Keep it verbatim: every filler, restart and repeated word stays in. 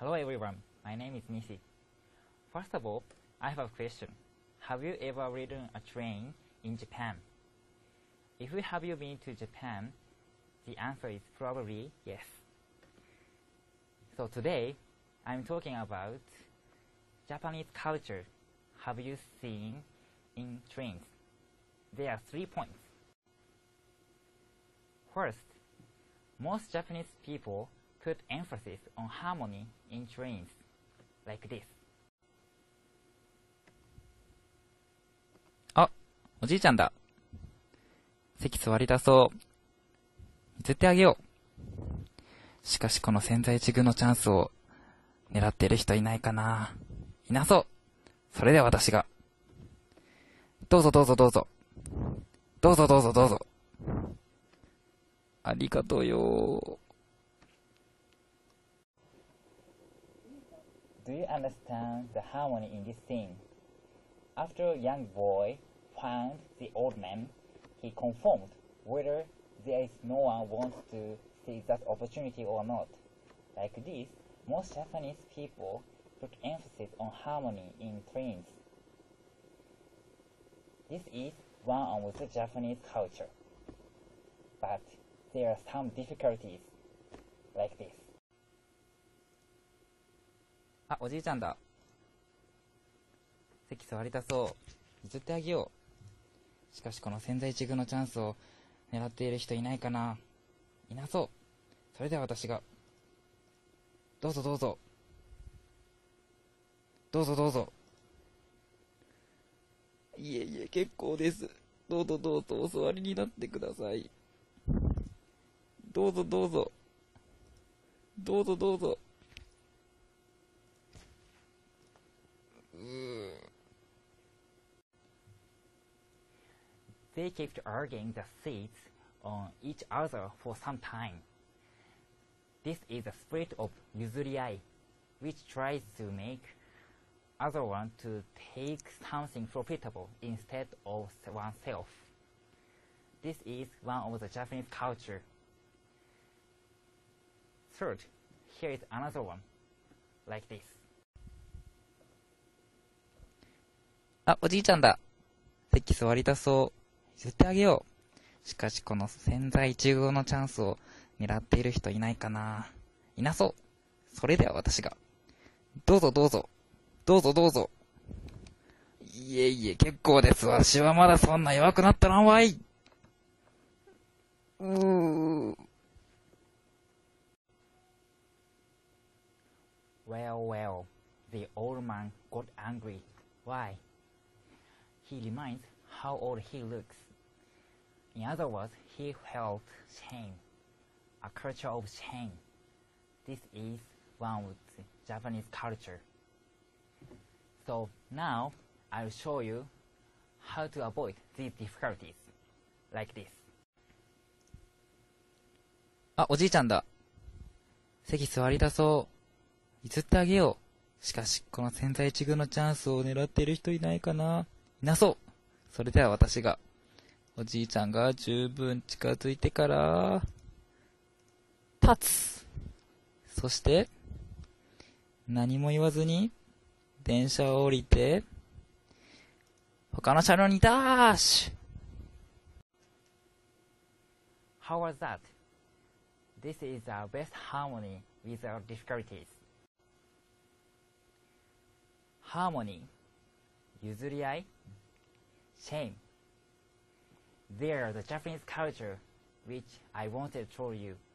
Hello everyone, my name is Nishi. First of all, I have a question. Have you ever ridden a train in Japan? If you have you been to Japan, the answer is probably yes. So today, I'm talking about Japanese culture. Have you seen in trains? There are three points. First, most Japanese people put emphasis on harmony in trains, like this. あ、おじいちゃんだ。席座りだそう。譲ってあげよう。しかしこの千載一遇のチャンスを狙っている人いないかな。いなそう。それでは私が。どうぞどうぞどうぞ。どうぞどうぞどうぞ。ありがとうよ。 Do you understand the harmony in this scene? After a young boy found the old man, he confirmed whether there is no one wants to seize that opportunity or not. Like this, most Japanese people put emphasis on harmony in trains. This is one of the Japanese culture. But there are some difficulties, like this. あ、おじいちゃんだ。席座りだそう。譲ってあげよう。しかしこの千載一遇のチャンスを狙っている人いないかな。いなそう。それでは私が。どうぞどうぞ。どうぞどうぞ。いえいえ、結構です。どうぞどうぞお座りになってください。どうぞどうぞ。どうぞどうぞ。 They kept arguing the seats on each other for some time. This is a spirit of yuzuriai, which tries to make other one to take something profitable instead of oneself. This is one of the Japanese culture. Third, here is another one, like this. あ、おじいちゃんだ。席座りだそう。譲ってあげよう。しかしこの千載一遇のチャンスを狙っている人いないかな。いなそう。それでは私が。どうぞどうぞ。どうぞどうぞ。いえいえ、結構です。私はまだそんな弱くなったらんわい。うー。 Well, well, the old man got angry. Why? He reminds how old he looks. In other words, he felt shame, a culture of shame. This is one of the Japanese culture. So now I'll show you how to avoid these difficulties, like this. あ、おじいちゃんだ。席座りだそう。譲ってあげよう。しかしこの千載一遇のチャンスを狙っている人いないかな。いなそう。それでは私が。おじいちゃんが十分近づいてから、立つ。そして、何も言わずに、電車を降りて、他の車両にダッシュ。 How was that? This is our best harmony with our difficulties. Harmony, 譲り合い shame. They are the Japanese culture which I wanted to show you.